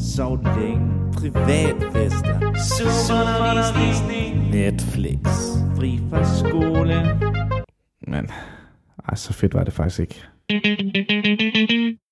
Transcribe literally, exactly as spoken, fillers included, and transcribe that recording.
sov længe, privatfester, superundervisning, Netflix, fri fra skole. Men, ej, så fedt var det faktisk ikke.